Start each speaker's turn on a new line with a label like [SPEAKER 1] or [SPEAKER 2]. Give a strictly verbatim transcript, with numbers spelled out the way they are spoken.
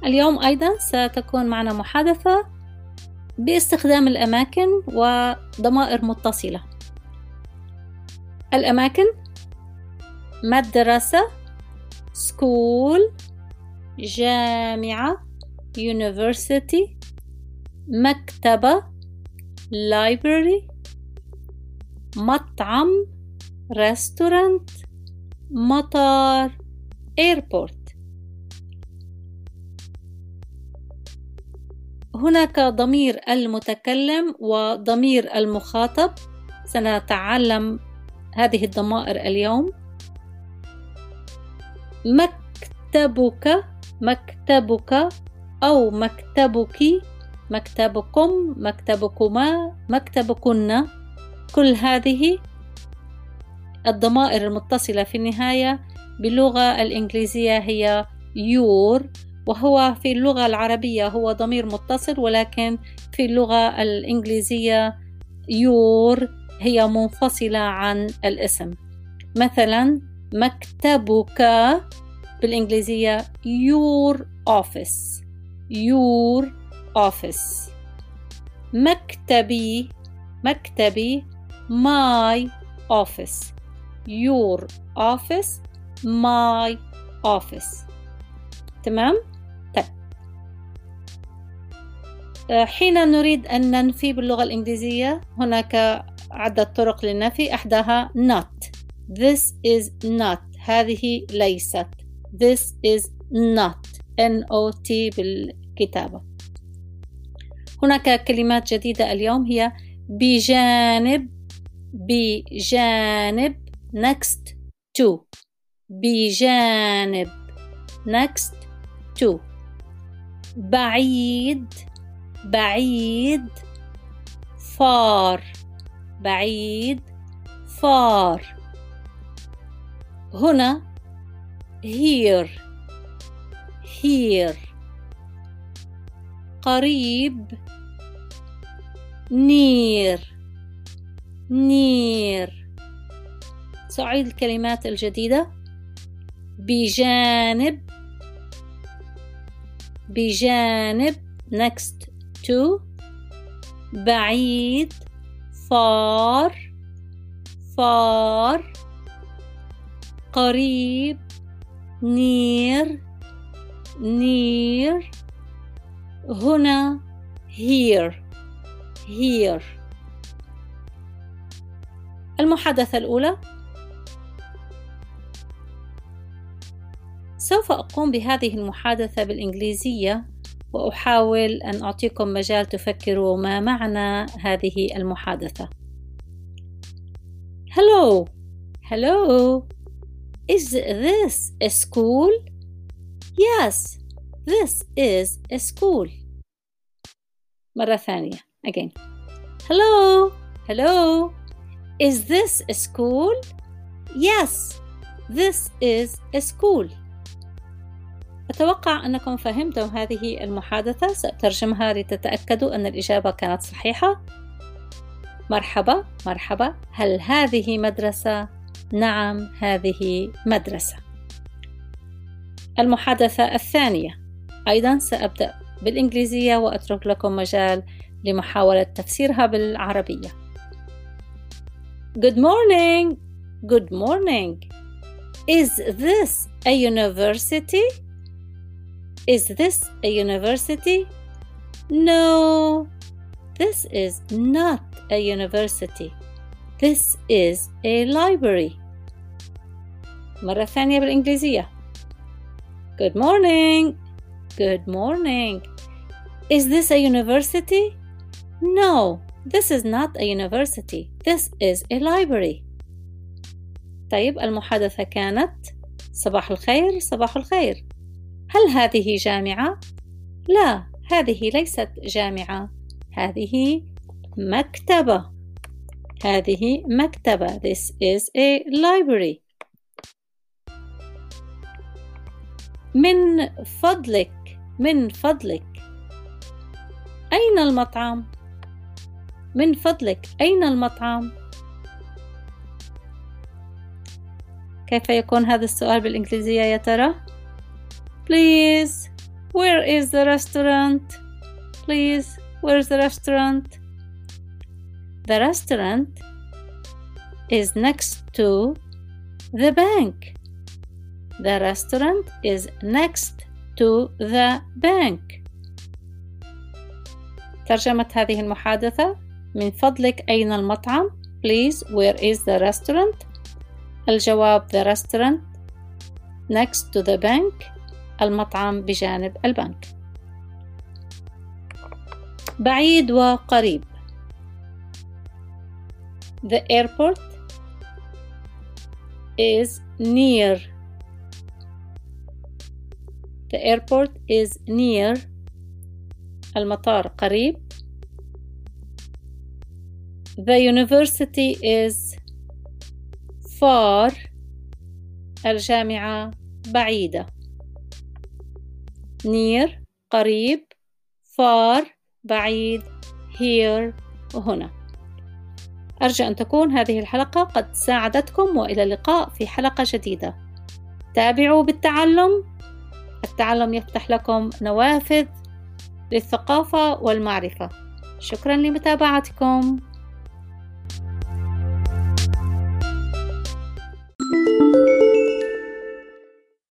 [SPEAKER 1] اليوم أيضا ستكون معنا محادثة باستخدام الأماكن وضمائر متصلة. الأماكن: مدرسة school، جامعة university، مكتبة library، مطعم restaurant، مطار airport. هناك ضمير المتكلم وضمير المخاطب، سنتعلم هذه الضمائر اليوم. مكتبك، مكتبك أو مكتبك، مكتبكم، مكتبكما، مكتبكن، كل هذه الضمائر المتصلة في النهاية باللغة الإنجليزية هي your، وهو في اللغة العربية هو ضمير متصل، ولكن في اللغة الإنجليزية your هي منفصلة عن الاسم. مثلا مكتبك بالإنجليزية your office، your office. مكتبي، مكتبي my office، your office my office. تمام؟ طيب، حين نريد أن ننفي باللغة الإنجليزية هناك عدة طرق للنفي، أحداها not. This is not، هذه ليست. This is not، N O T بالكتابة. هناك كلمات جديدة اليوم هي بجانب، بجانب next to، بجانب next to. بعيد، بعيد far، بعيد far. هنا here، here. قريب near، near. سأعيد الكلمات الجديدة: بجانب، بجانب next to، بعيد far، far. قريب near، near. هنا here، here. المحادثة الأولى: سوف أقوم بهذه المحادثة بالإنجليزية وأحاول أن أعطيكم مجال تفكروا ما معنى هذه المحادثة. Hello، hello. Is this a school? Yes, this is a school. مرة ثانية. Again. Hello, hello. Is this a school? Yes, this is a school. أتوقع أنكم فهمتم هذه المحادثة. سأترجمها لتتأكدوا أن الإجابة كانت صحيحة. مرحبا، مرحبا. هل هذه مدرسة؟ نعم، هذه مدرسة. المحادثة الثانية أيضا سأبدأ بالإنجليزية وأترك لكم مجال لمحاولة تفسيرها بالعربية. Good morning. Good morning. Is this a university? Is this a university? No, this is not a university. This is a library. مرة ثانية بالإنجليزية. Good morning. Good morning. Is this a university? No, this is not a university. This is a library. طيب، المحادثة كانت: صباح الخير، صباح الخير. هل هذه جامعة؟ لا، هذه ليست جامعة. هذه مكتبة. هذه مكتبة. This is a library. من فضلك، من فضلك. أين المطعم؟ من فضلك، أين المطعم؟ كيف يكون هذا السؤال بالإنجليزية يا ترى؟ Please, Where is the restaurant? Please, where's the restaurant? The restaurant is next to the bank. The restaurant is next to the bank. ترجمة هذه المحادثة: من فضلك أين المطعم؟ Please, where is the restaurant? الجواب: the restaurant next to the bank. المطعم بجانب البنك. بعيد وقريب. The airport is near. The airport is near. المطار قريب. The university is far. الجامعة بعيدة. near قريب، far بعيد، here وهنا. أرجو أن تكون هذه الحلقة قد ساعدتكم، وإلى اللقاء في حلقة جديدة. تابعوا بالتعلم. التعلم يفتح لكم نوافذ للثقافة والمعرفة. شكرا لمتابعتكم.